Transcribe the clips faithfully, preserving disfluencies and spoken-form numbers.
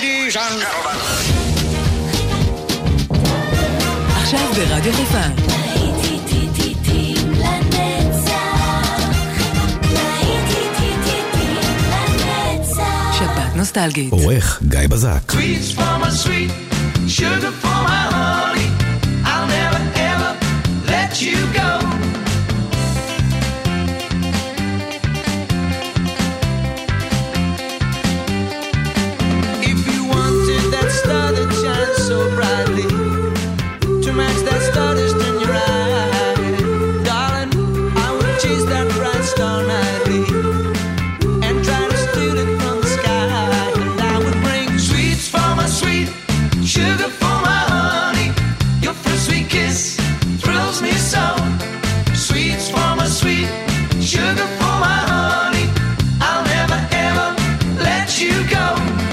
Ladies and gentlemen. עכשיו ברדיו חיפה. שבת נוסטלגית. עורך גיא בזק. Sweets for my sweet, sugar for my honey, I'll never ever let you go. If you wanted that star that shines so brightly, to match that star that's in your eye, darling, I would chase that bright star nightly and try to steal it from the sky. And I would bring sweets for my sweet, sugar for my honey. Your first sweet kiss thrills me so. Sweets for my sweet, sugar for my honey, I'll never ever let you go.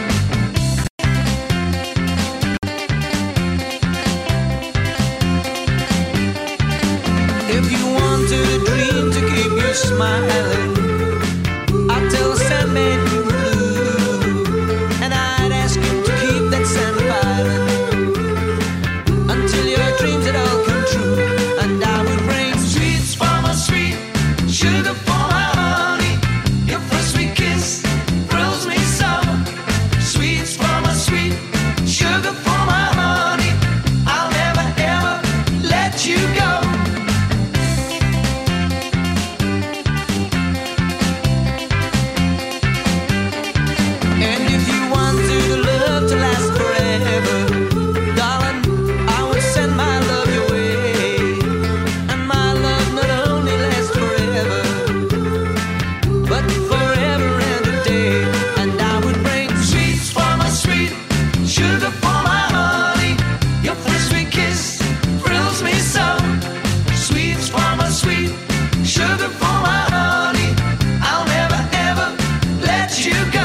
If you wanted a dream to keep you smiling, I'd tell the Sandman you're blue, and I'd ask him to keep that sand island until your dreams had all come true. And I would bring sweets for my sweet, sugar for my honey. Your first sweet kiss thrills me so. Sweets for my sweet, sugar for my honey, I'll never ever let you go. And if you wanted a love to last forever, darling, I would send my love your way. And my love not only lasts forever, but forever and a day. And I would bring sweets for my sweet, sugar for my honey. Your first sweet kiss thrills me so. Sweets for my sweet, sugar for my honey, I'll never ever let you go.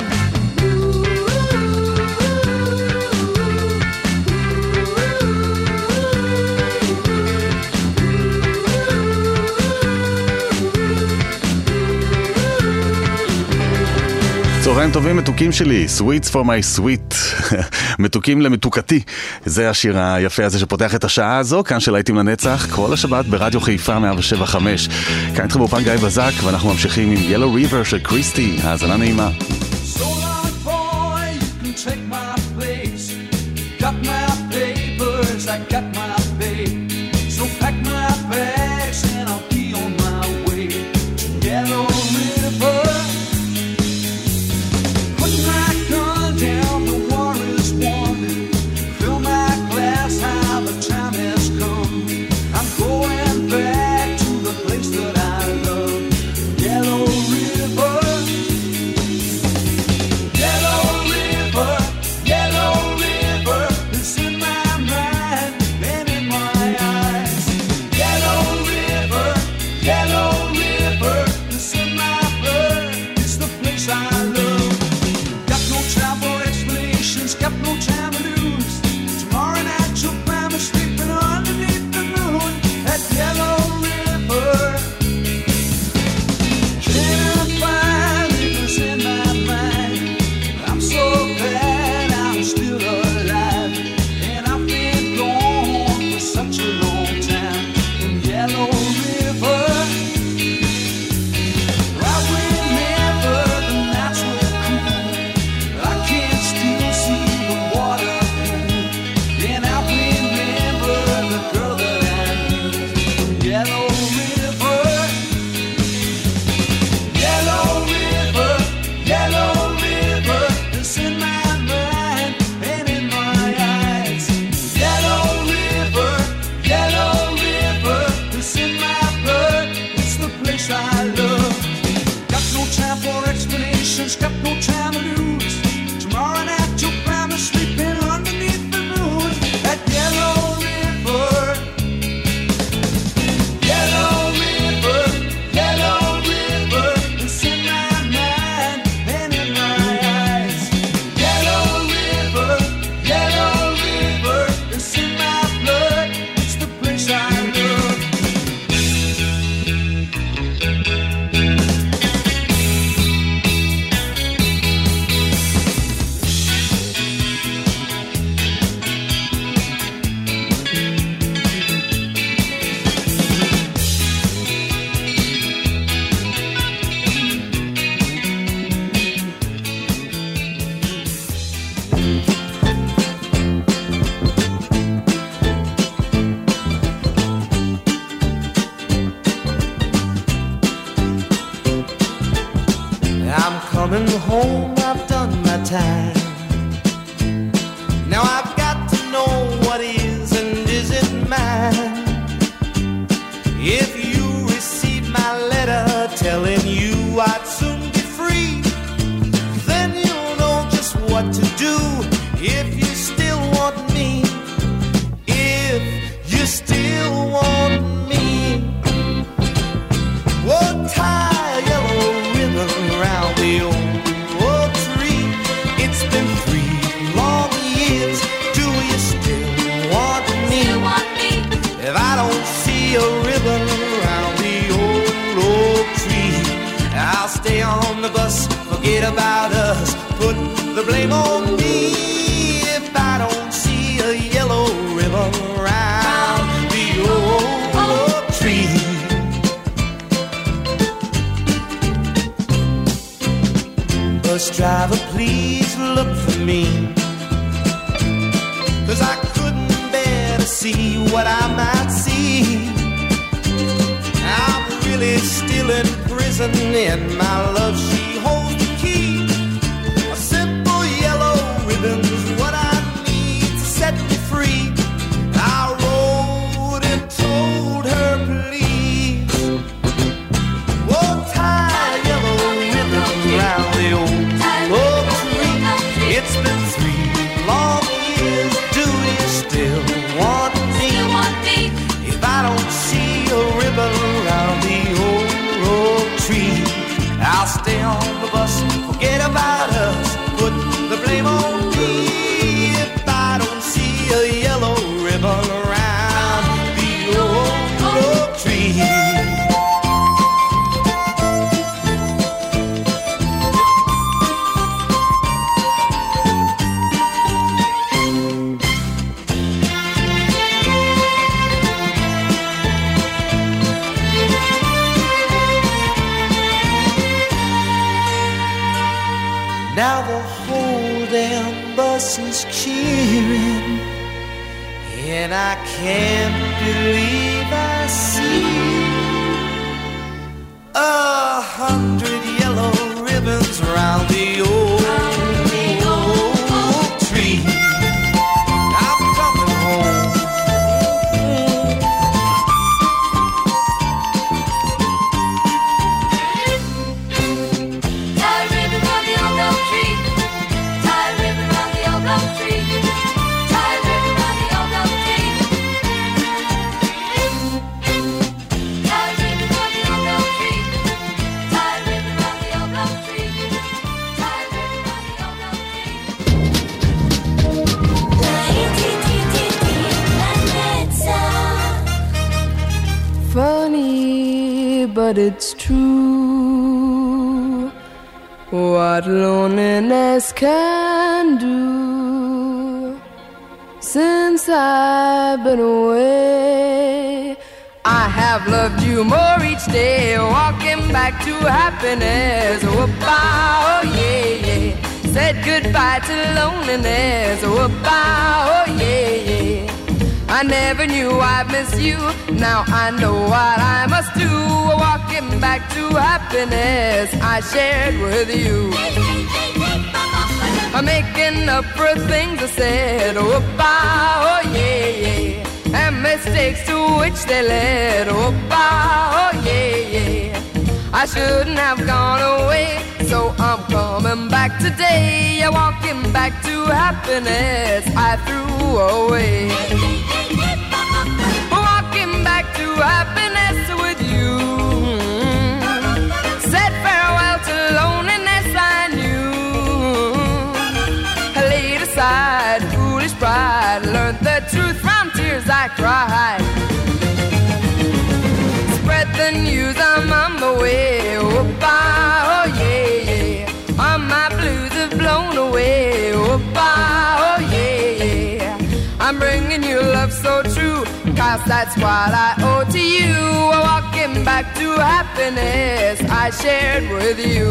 צהריים טובים מתוקים שלי, Sweets for my sweet, מתוקים למתוקתי. זה השיר היפה הזה שפותח את השעה הזו, כאן של להיטים לנצח, כל השבת ברדיו חיפה מאה שבע חמש. כאן איתכם באופן גיא בזק, ואנחנו ממשיכים עם Yellow River של קריסטי. האזנה נעימה. So long, boy, you can take my place. Got my papers, I got my pay. So pack my bags and I'll be on my way to Yellow River. Put my gun down, the war is won. Fill my glass, how the time has come. I'm going back to the place that I love, Yellow River. Yellow River, time. Now I've got to know what is and isn't mine. If you receive my letter telling you I'd soon be free, then you'll know just what to do if you still want me. If you still want me, oh, tie a yellow ribbon around the old oak tree. It's been three long years. Do you still want me? Still want me? If I don't see a ribbon around the old oak tree, I'll stay on the bus, forget about us, put the blame on me. If I don't see a yellow ribbon around the old oak tree. Bus driver, please look for me, 'cause I couldn't bear to see what I might see. I'm really still in prison, and my love, she holds the key. A simple yellow ribbon's what I need to set me free. I wrote and told her, please, oh, tie a yellow ribbon around the old oak tree. It's been three long years. Do you still want me? Still want me? If I don't see a ribbon around the old oak tree, I'll stay on the bus, forget about us, put the blame on me. If I don't see a yellow ribbon around the old oak tree. Now the whole damn bus is cheering, and I can't believe I see a hundred yellow ribbons around the old oak tree. I'm coming home. Tie a ribbon round the old oak tree. Tie a ribbon round the old oak tree. Tie a ribbon round the old oak tree. Tie a ribbon round the old oak tree. Tie a ribbon round the old oak tree. Tie a ribbon round the old oak tree. Funny, but it's true what loneliness can do. Since I've been away, I have loved you more each day, walking back to happiness. Whoop-ah, oh yeah, yeah. Said goodbye to loneliness. Whoop-ah, oh yeah, yeah. I never knew I'd miss you. Now I know what I must do. Walking back to happiness I shared with you. I'm making up for things I said. Whoop-ah, oh yeah, yeah. And mistakes to which they led. Whoop-ah, oh yeah, yeah. I shouldn't have gone away, so I'm coming back today. Walking back to happiness I threw away. Walking back to happiness with you. Said farewell to loneliness I knew. I laid aside foolish pride, learned the truth from tears I cried. Spread the news, I'm on my way. Whoop-ah, oh yeah, yeah. All my blues have blown away. Whoop-ah, oh yeah, yeah. I'm bringing you love so true, 'cause that's what I owe to you. Walking back to happiness I shared with you.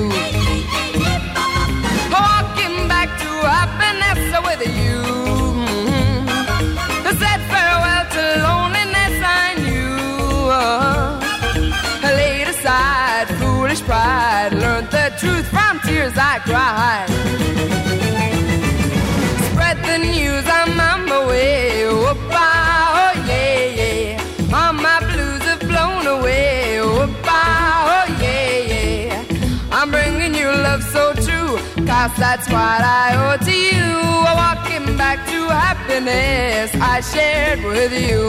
Walking back to happiness with you. I said farewell to loneliness I knew. I laid aside foolish pride, learned the truth from tears I cried. past, that's what I owe to you. Walking back to happiness I shared with you.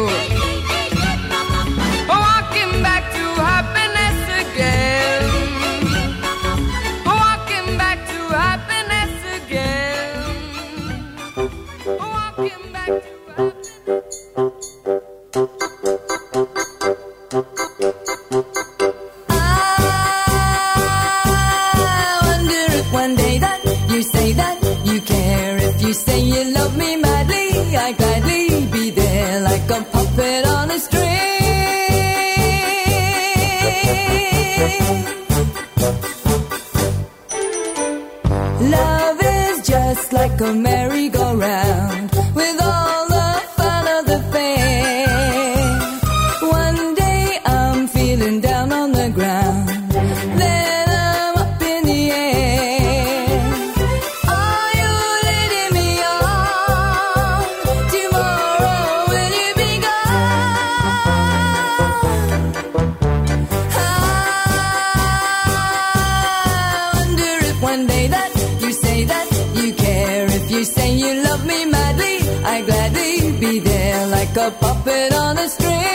Walking back to happiness again. Walking back to happiness again. Walking back to you say you love me madly, I gladly be there like a puppet on a string. Love is just like a merry-go-round with all the fun of the fair. One day I'm feeling down on the ground, then I'm up in the air. Are you leading me on? Tomorrow will you be gone? I wonder if one day that you say that you care, if you say you love me madly, I gladly be there like a puppet on a string.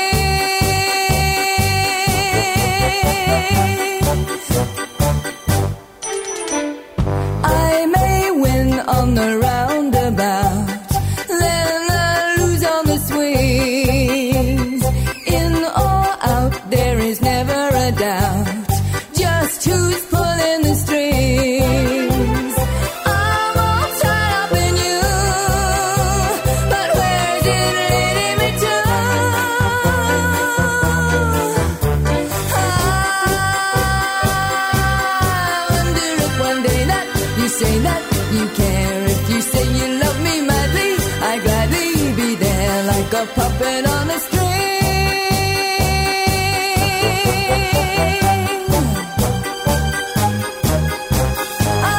I may win on the roundabout, then I lose on the swings. In or out, there is never a doubt, just who's pulling the strings. I'm all tied up in you, but where's it leading me to? I wonder if one day that you say that you care, if you say you love me madly, I gladly be there like a puppet on a string. I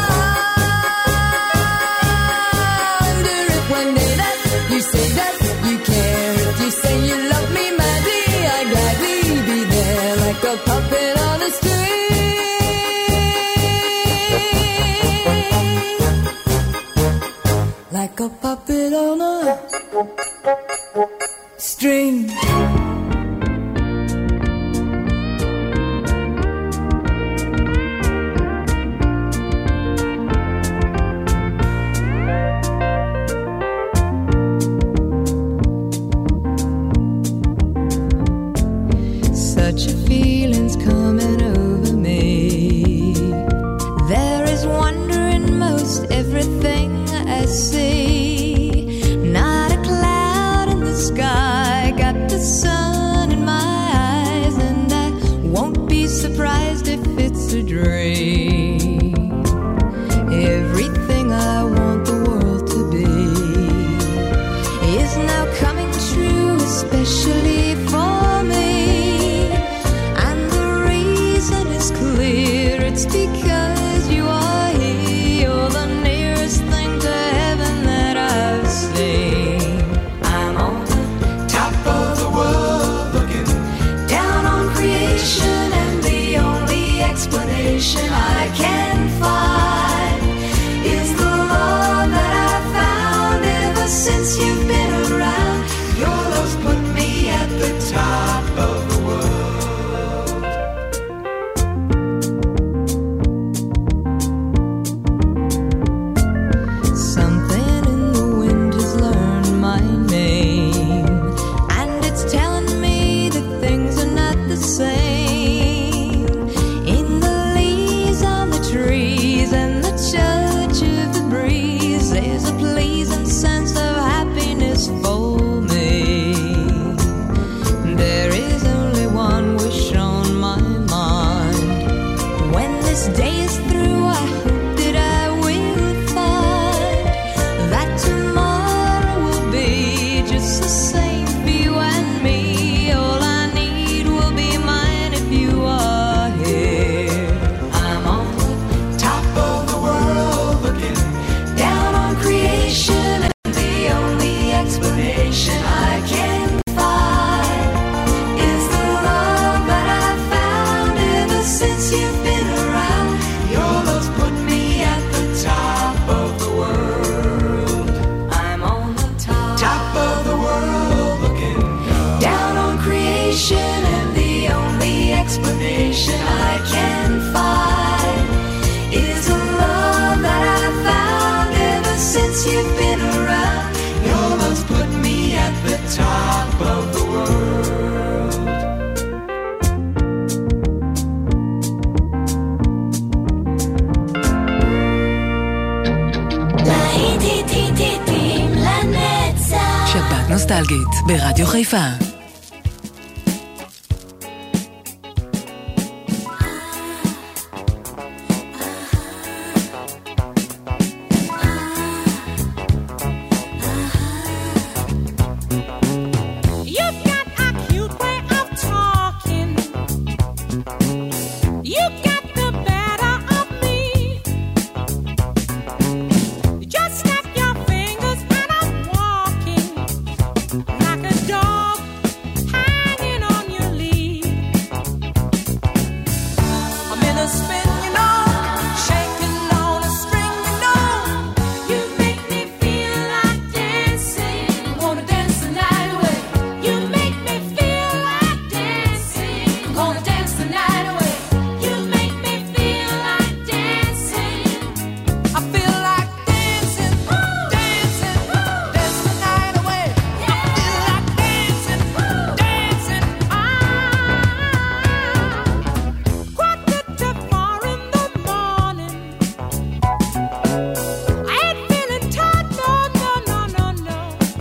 wonder if one day that you say that you care, if you say you love me madly, I gladly be there like a puppet on a string. Like a puppet on a string. Such a feeling's coming over me. There is wonder in most everything I see. Not a cloud in the sky, got the sun in my eyes, and I won't be surprised if it's a dream. Everything I want the world to be is now coming true, especially for me. And the reason is clear, it's because you are here. You're the nearest thing to heaven that I've seen. I'm on the top of the world, looking down on creation, and the only explanation I we've been around. Your love's put me at the top of the world. להיטים לנצח. שבת נוסטלגית ברדיו חיפה. You've got a cute way of talking. You got the better of me. Just snap your fingers and I'm walking like a dog hanging on your lead. I'm in a spin, you know, shaking on a string, you know. You make me feel like dancing. Wanna dance the night away. You make me feel like dancing. Wanna dance the night away. You make me feel like dancing. I feel like dancing, dancing, dance the night away. I feel like dancing, dancing. Ah, quarter to four in the morning. I ain't feeling tight, no, no, no, no, no.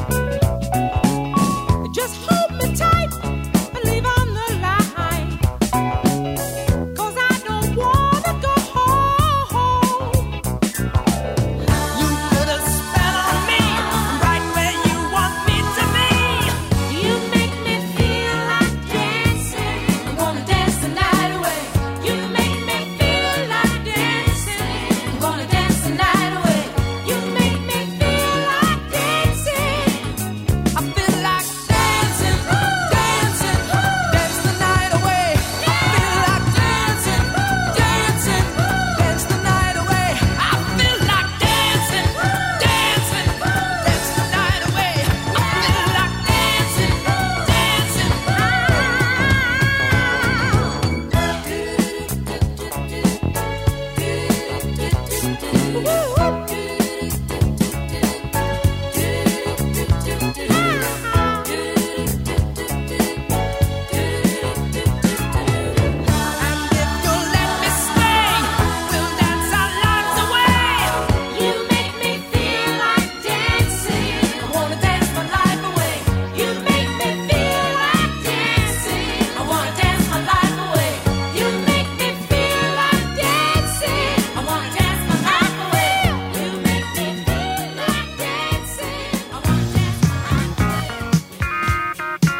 Just hold me tight and leave on the line. 'Cause I don't wanna go home. You put a spell on me, right where you want me to be. You make me feel like dancing. I wanna dance the night away. You make me feel like dancing. I wanna dance the night away. You make me feel like dancing. I feel like dancing, dancing, dance the night away. I feel like dancing, dancing, dance the night away. I feel like dancing, dancing, dance the night away. I feel like dancing, And if you'll let me stay, we'll dance our lives away. You make me feel like dancing. I wanna dance my life away. You make me feel like dancing. I wanna dance my life away. You make me feel like dancing. I wanna dance my life away. You make me feel like dancing. I wanna dance my life away.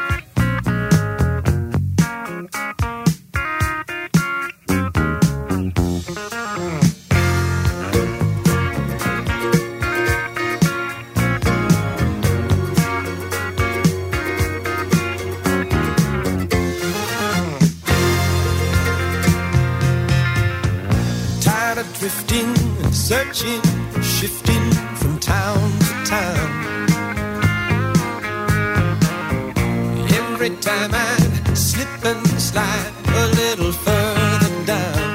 Tired of drifting and searching, shifting from town to town. Every time I slip and slide a little further down.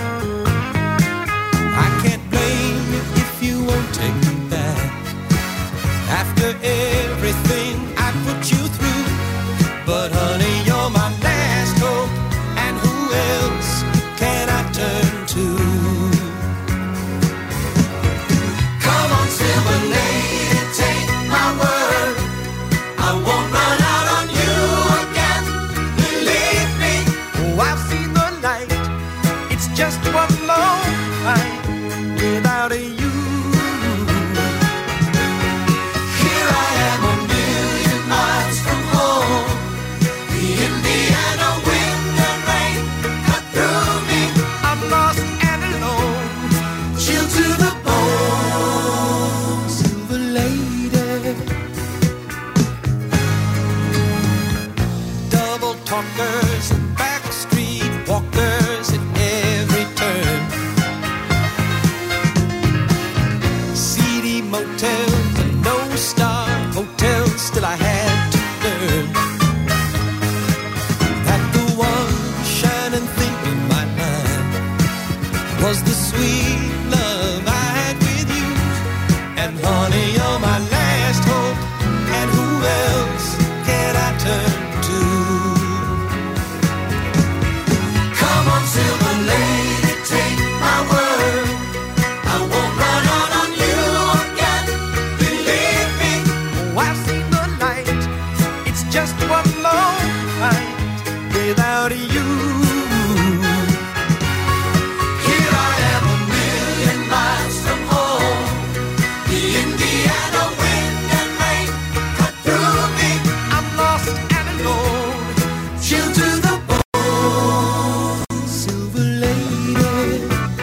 I can't blame you if you won't take me back. After everything I put you through, but honey, you're my last hope, and who else can I turn to? Come on, silver lady, take my word. I won't run out on you again. Believe me. Oh, I've seen the light. It's just one long fight without a you. Here I am a million miles from home. The Indiana wind and rain cut through me. I'm lost and alone, chilled to the bone. Silver lady, double talkers and backstreet walkers at every turn. Seedy motels and no-star hotels, still I had to learn that the one shining thing in my mind was the sweet love I had with you. And honey, Indiana wind and rain cut through me. I'm lost and alone, chilled to the bone. Silver lady,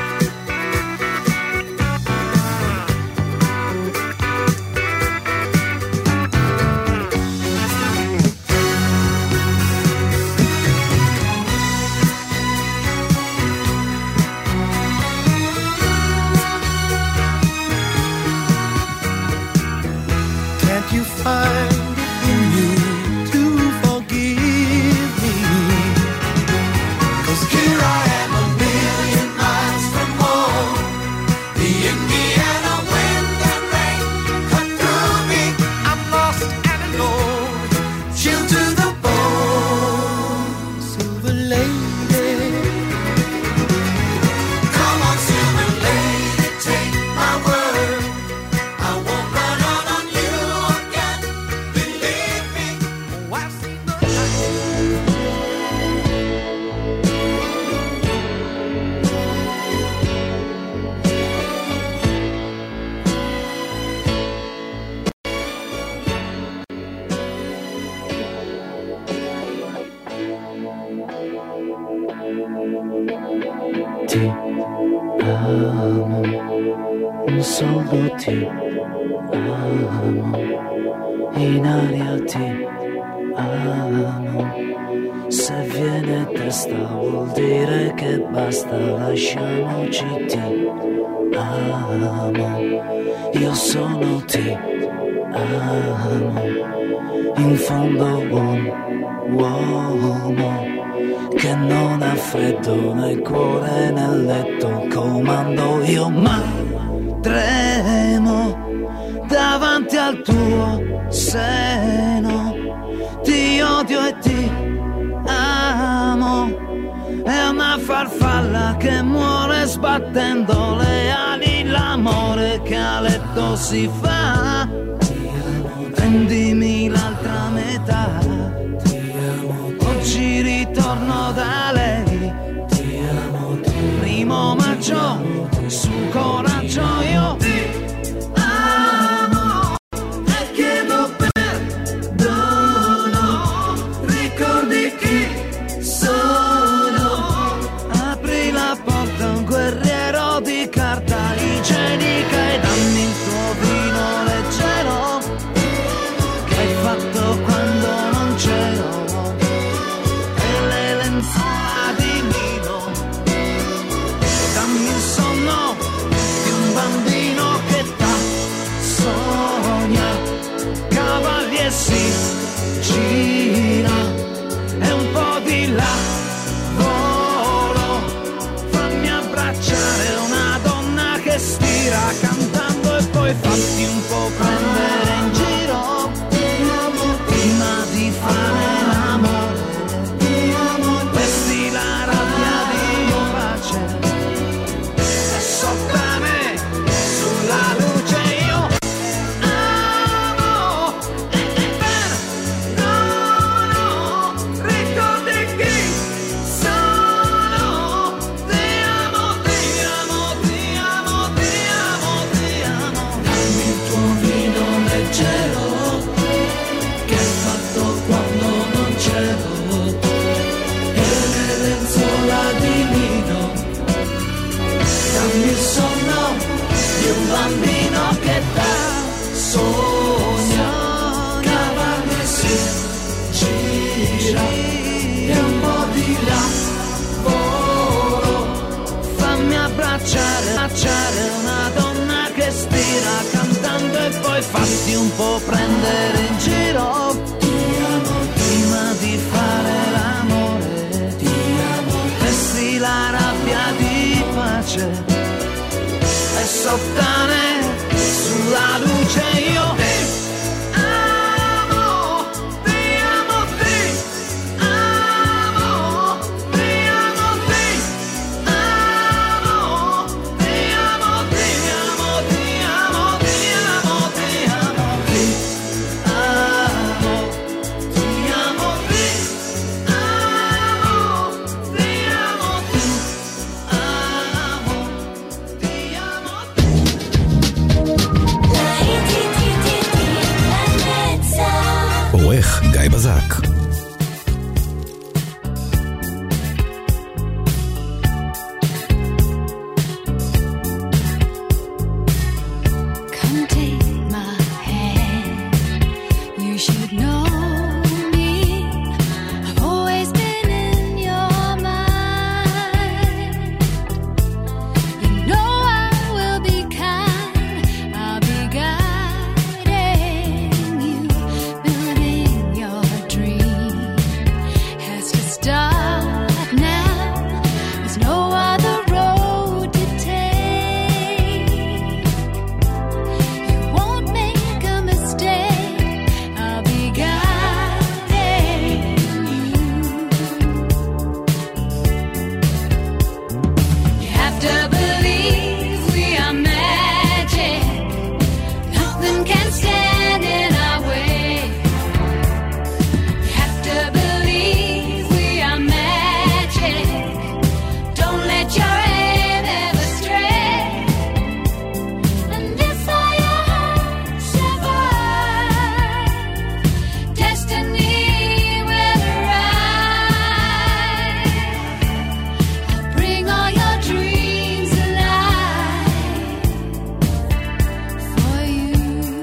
can't you find it in you to forgive me? 'Cause here I am a million miles from home. The Indiana wind and rain cut through me. I'm lost and alone, chilled to the bone. Silver lady, come on, silver lady, take my word. I won't run out on you again. Believe me, oh, I've seen the Ti amo, un solo ti amo, in aria ti amo. Se viene testa vuol dire che basta, lasciamoci ti amo. Io sono ti amo, in fondo buon uomo che non ha freddo nel cuore nel letto, comando io ma tremo davanti al tuo seno, ti odio e ti amo, è una farfalla che muore sbattendo le ali, l'amore che a letto si fa, prendimi l'altra metà. Oggi ritorno da lei, ti amo, primo maggio, su coraggio io ti amo e chiedo perdono, ricordi chi sono, apri la porta a un guerriero di carta igienica e dammi il tuo vino leggero che hai fatto quando non c'ero. Si gira e un po' di là volo, fammi abbracciare una donna che stira cantando e poi fatti un po' prendere in giro prima di fare l'amore. Vesti la rabbia di pace e sotto a me sulla luce io bambino che da sogna, cavalli si gira e un po' di lavoro, fammi abbracciare, abbracciare una donna che stira cantando e poi fatti un po' prendere in giro. Ti amo prima di fare l'amore, ti amo, vesti la rabbia di pace e sottane sulla luce io ti amo, ti amo, ti amo, ti amo, ti amo, ti amo, ti amo, ti amo, ti amo, ti amo, ti amo, ti amo, ti amo, ti amo, ti amo, ti amo. העורך גיא בזק. Come take my hand. You should know me. I've always been in your mind. You know I will be kind. I'll be guiding you. Building your dream has to start now. There's no other road to take. You won't make a mistake. I'll be guiding you. You have to believe we are magic. Nothing can stand in our way. You have to believe we are magic. Don't let your aim ever stray. And if all your hopes survive, destiny will arrive. I'll bring all your dreams alive for you.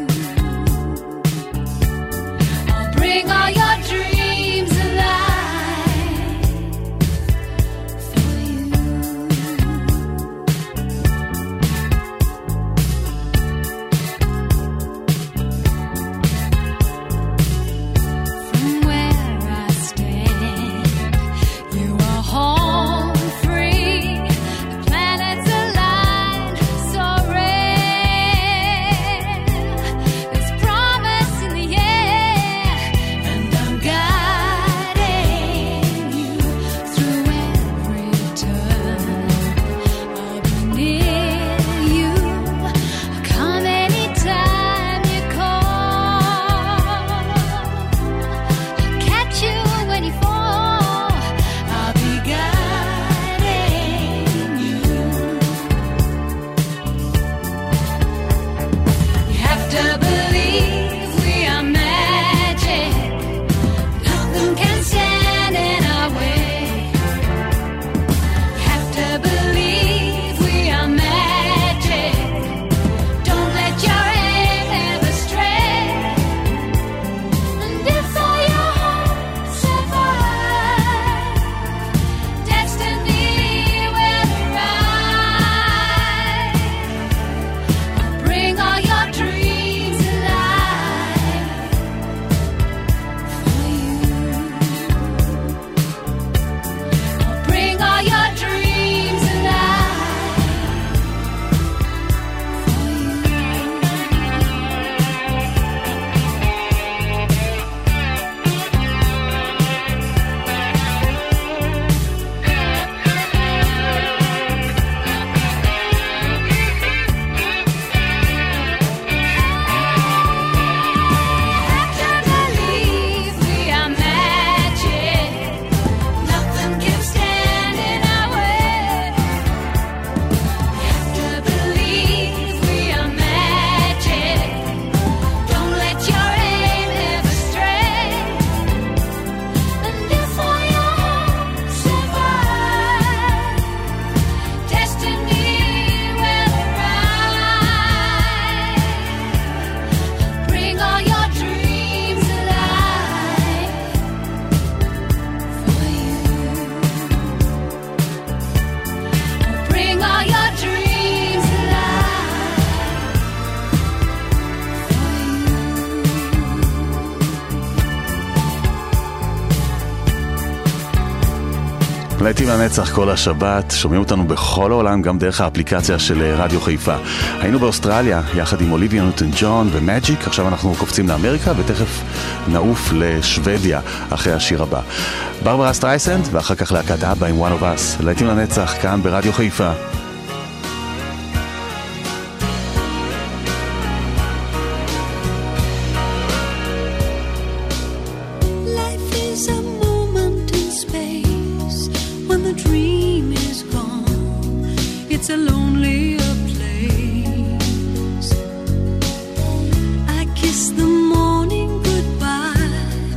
I'll bring all your dreams alive for you. From where I stand, you are home free. The planets align so rare. There's promise in the air, and I'm guiding you through every turn. I'll be near you. I'll come anytime you call. I'll catch you when you fall. I'll be guiding you. You have to believe we are magic. Nothing can stand in our way. You have to believe we are magic. Don't let your aim ever stray. And if all your hopes survive, destiny will arrive. I'll bring all your dreams alive for you. I'll bring all your dreams alive for Have to believe we are magic. Nothing can stand in our way. Have to believe we are magic. Don't let your aim ever stray. And if all your hopes survive, destiny will arrive. Bring all your dreams alive for you. Bring all your dreams alive for you. להיטים לנצח כל השבת, שומעים אותנו בכל העולם, גם דרך האפליקציה של רדיו חיפה. היינו באוסטרליה, יחד עם אוליביה ניוטון ג'ון ומג'יק, עכשיו אנחנו קופצים לאמריקה, ותכף נעוף לשוודיה אחרי השיר הבא. ברברה סטרייסנד, ואחר כך להקת אבא עם One of Us. להיטים לנצח כאן ברדיו חיפה. Life is a moment in space when the dream is gone. It's a lonelier place. I kiss the morning goodbye.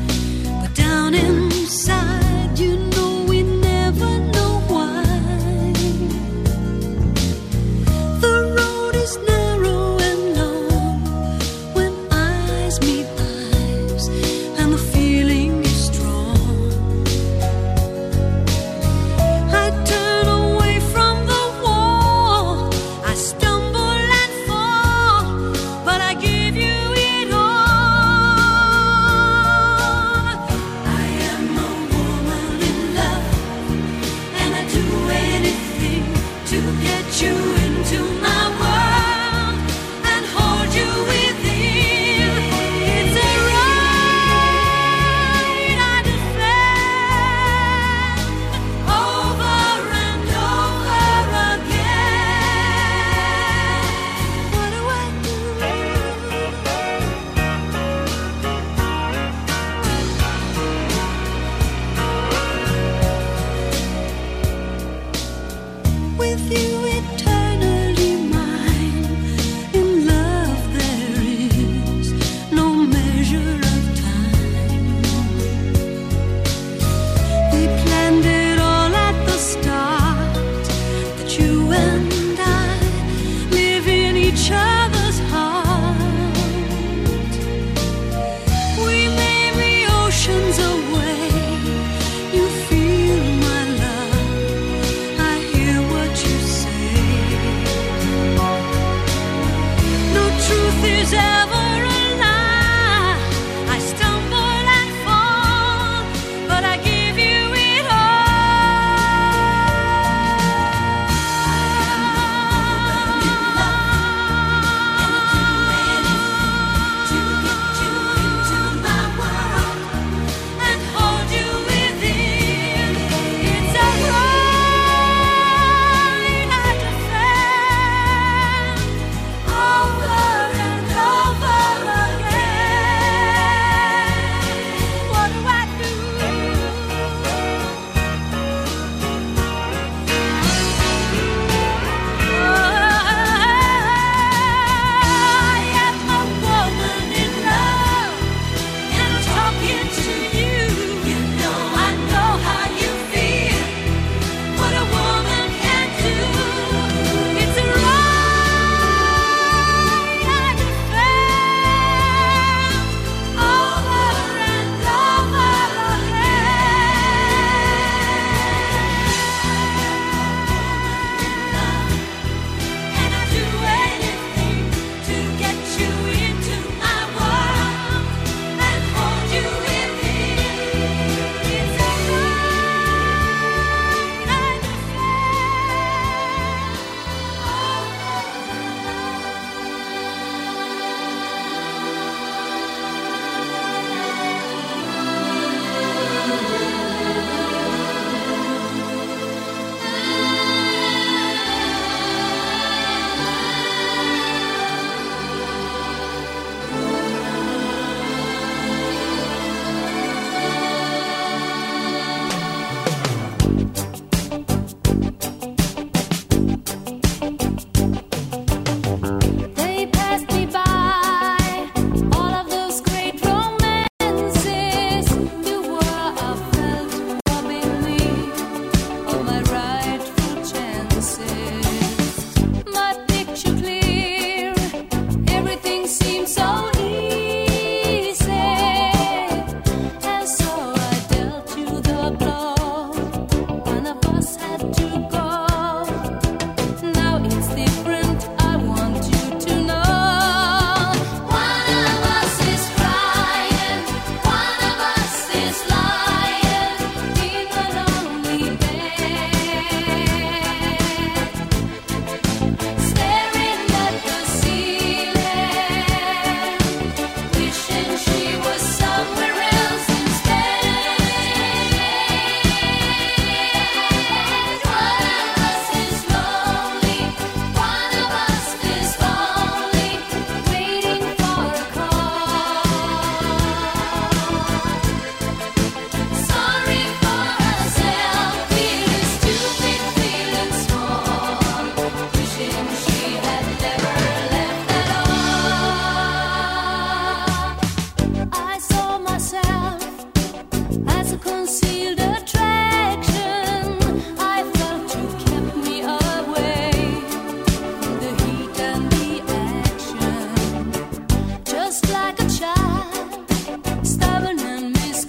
I saw myself as a concealed attraction. I felt you kept me away from the heat and the action. Just like a child, stubborn and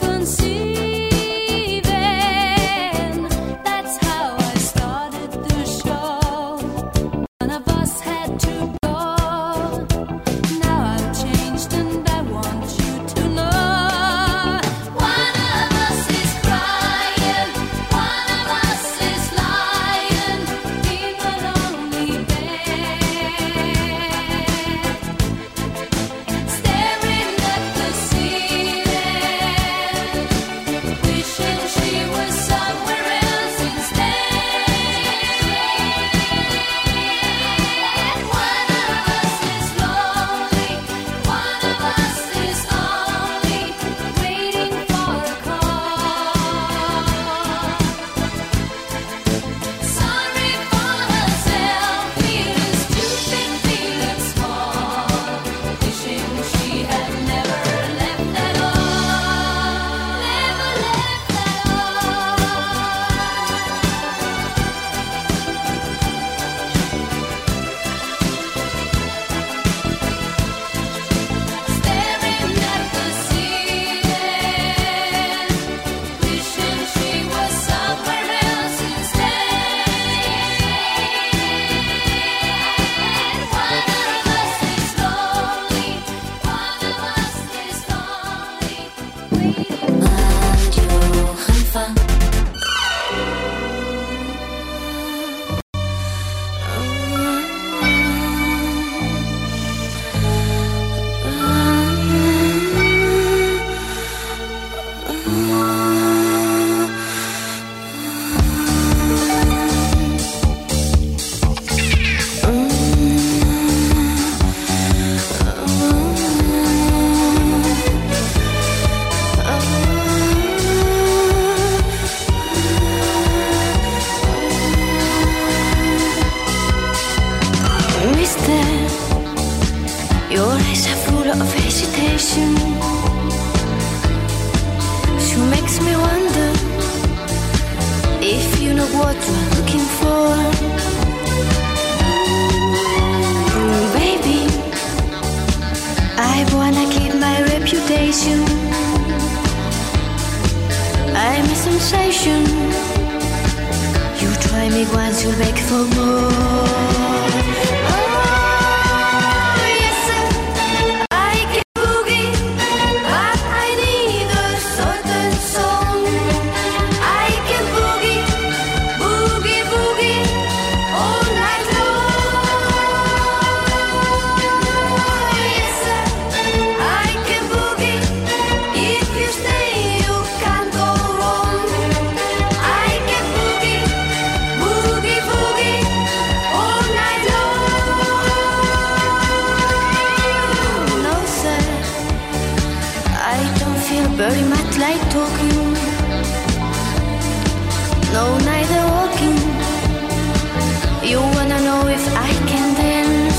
misconceiving. That's how I started the show. One of us had to go. Now I've changed and I want you to know. One of us is crying, one of us is lying in a lonely bed, staring at the ceiling, wishing she was somewhere else instead. One of us is lonely, one of us is only waiting for a call. Sorry for herself, feeling stupid, feeling small, wishing she had never left at all, never left at all. Staring at the ceiling, wishing she was somewhere else instead. One of us is lonely, one of us is lonely, waiting. Radio Haifa. Mister, your eyes are full of hesitation. She makes me wonder if you know what you're looking for. Mm, baby, I wanna keep my reputation. I'm a sensation. You try me once, you'll beg for more. Oh, yes, sir, I can boogie, but I need a certain song. I can boogie, boogie, boogie all night long. Yes, sir, I can boogie. If you stay, you can't go wrong. I can boogie, boogie, boogie all night long. No, sir, I don't feel very much like talking. No, neither walking. You wanna know if I can dance?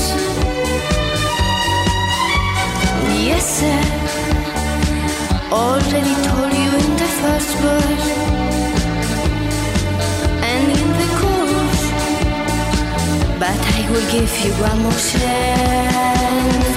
Yes, sir, already told you in the first verse and in the chorus, but I will give you one more chance.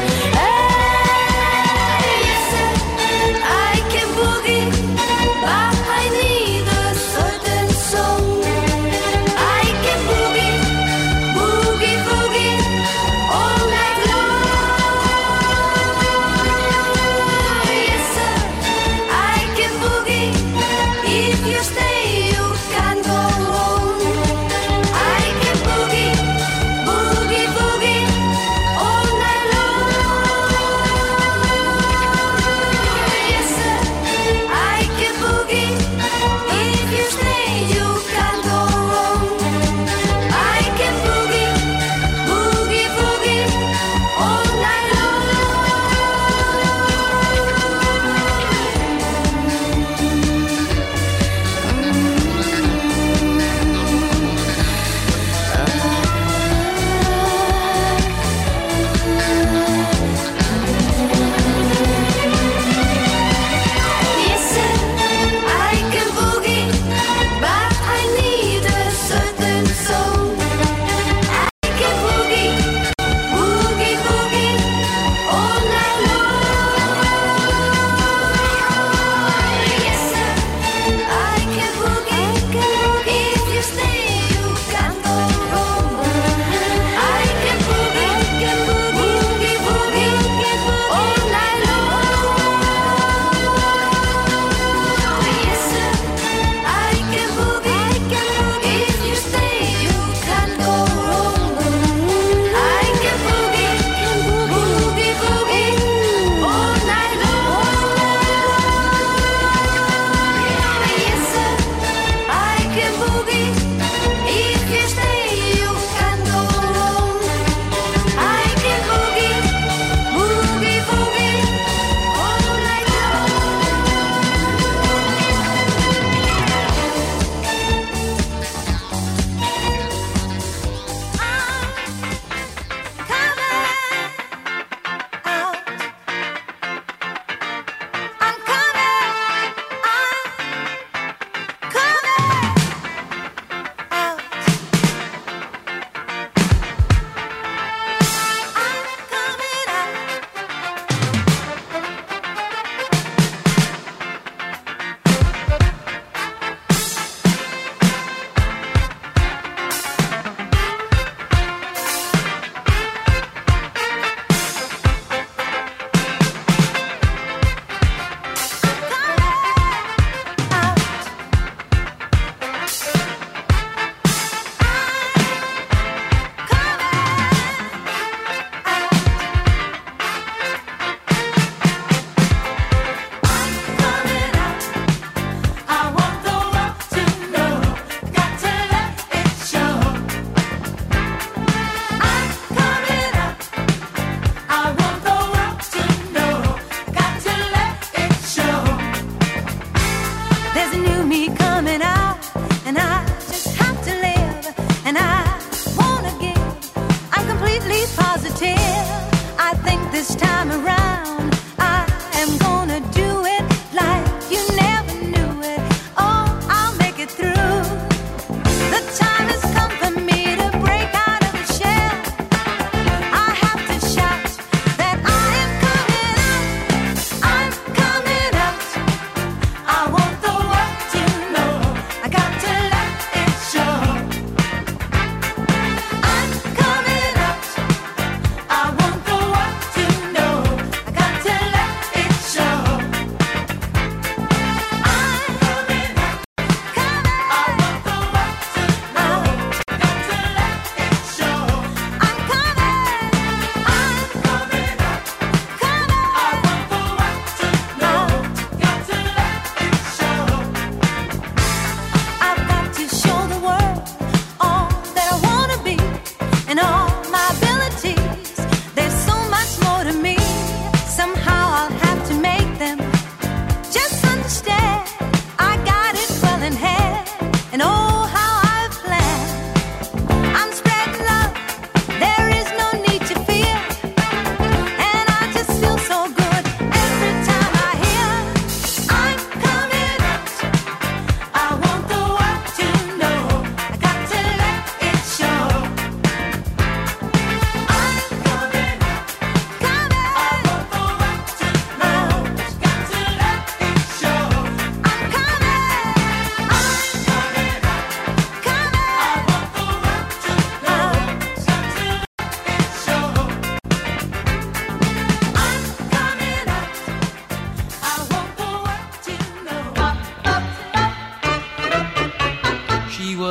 Hey, yes, sir, I can boogie, but I need a certain song. I can boogie, boogie, boogie all night long. Yes, sir, I can boogie. If you stay, you can't go wrong. I can boogie, boogie, boogie all night long.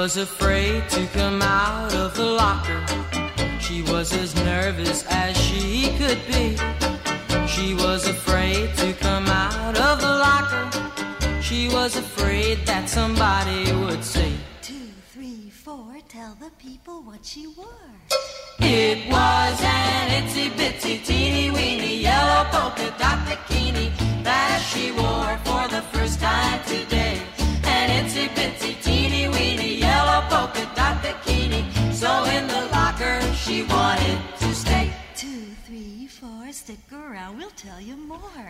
was afraid to come out of the locker. She was as nervous as she could be. She was afraid to come out of the locker. She was afraid that somebody would say, Two, three, four, tell the people what she wore. it was an itsy bitsy teeny weeny yellow polka dot bikini that she wore for the first time today. An itsy bitsy teeny weeny yellow polka dot bikini. So in the locker she wanted to stay. Two, three, four, stick around, we'll tell you more.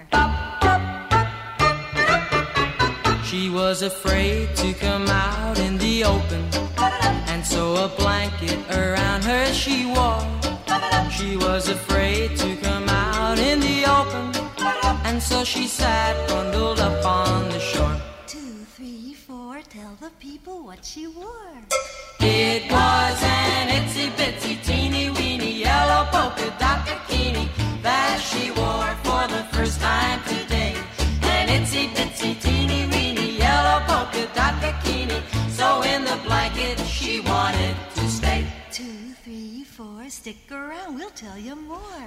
She was afraid to come out in the open, and so a blanket around her she wore. She was afraid to come out in the open, and so she sat bundled up on the shore. Two, three, four, tell the people what she wore. It was an itsy bitsy teeny weeny yellow polka dot bikini that she wore for the first time today. An itsy bitsy teeny weeny yellow polka dot bikini. So in the blanket she wanted to stay. Two, three, four, stick around, we'll tell you more.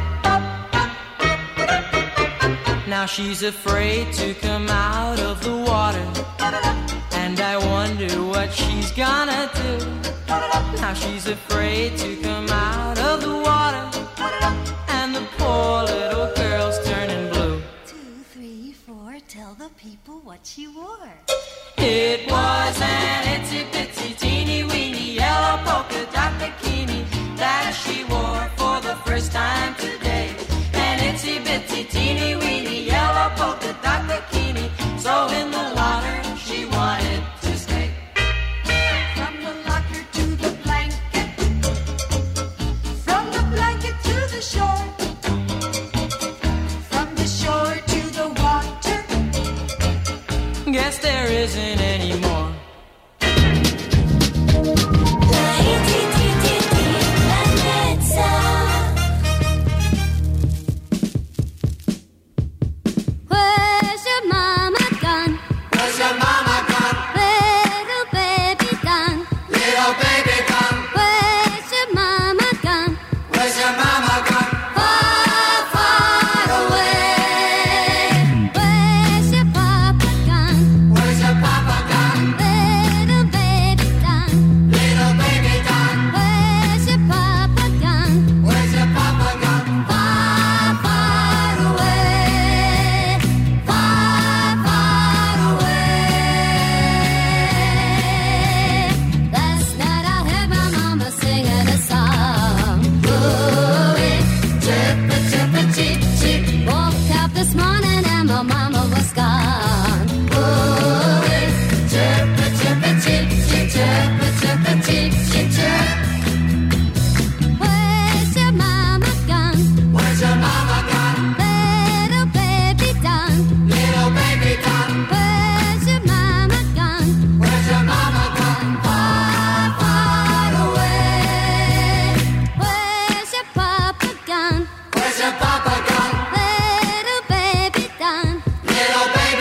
Now she's afraid to come out of the water, and I wonder what she's gonna do. Now she's afraid to come out of the water, and the poor little girl's turning blue. Two, three, four, tell the people what she wore. It was an itsy bitsy teeny weeny yellow polka dot bikini that she wore for the first time today. An itsy bitsy teeny weeny yellow polka dot bikini. So in the locker she wanted to stay. From the locker to the blanket, from the blanket to the shore, from the shore to the water. Guess there isn't any more. Where's your mama gone? Where's your mama gone? Little baby gone. Little baby gone. Where's your mama gone? Where's your mama gone? Far, far away. Where's your papa gone? Where's your papa gone? Little baby gone. Little baby gone. Where's your papa gone? Where's your papa gone? Far, far away. Far, far away. Last night I heard my mama singing a song. Ooh-wee, chirpa, chirpa, cheep, cheep. Woke up this morning and my mama was gone. Ooh-wee, chirpa, chirpa, cheep, cheep, chirpa, chirpa, cheep, cheep, chirp. Where's your mama gone? Where's your mama gone? Little baby gone. Little baby gone. Where's your mama gone? Where's your mama gone? Far, far away. Where's your papa gone? Where's your papa gone? Little baby gone. Little baby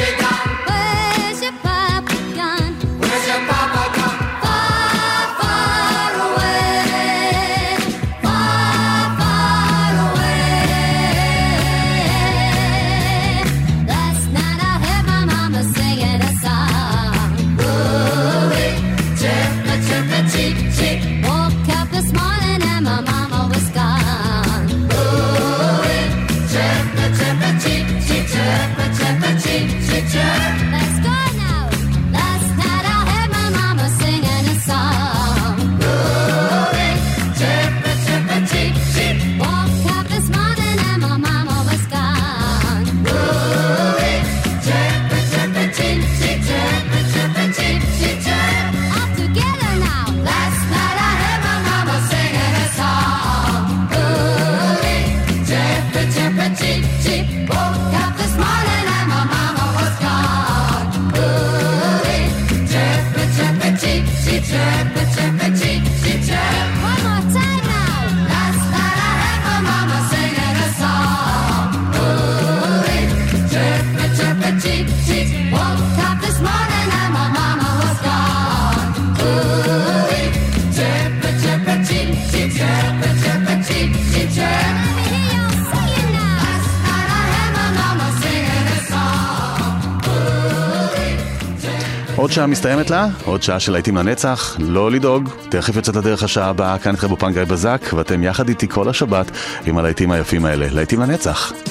עוד שעה מסתיימת לה, עוד שעה של להיטים לנצח, לא לדאוג, תכף יוצאת לדרך השעה הבאה, כאן איתכם באופן גיא בזק, ואתם יחד איתי כל השבת עם הלהיטים היפים האלה, להיטים לנצח.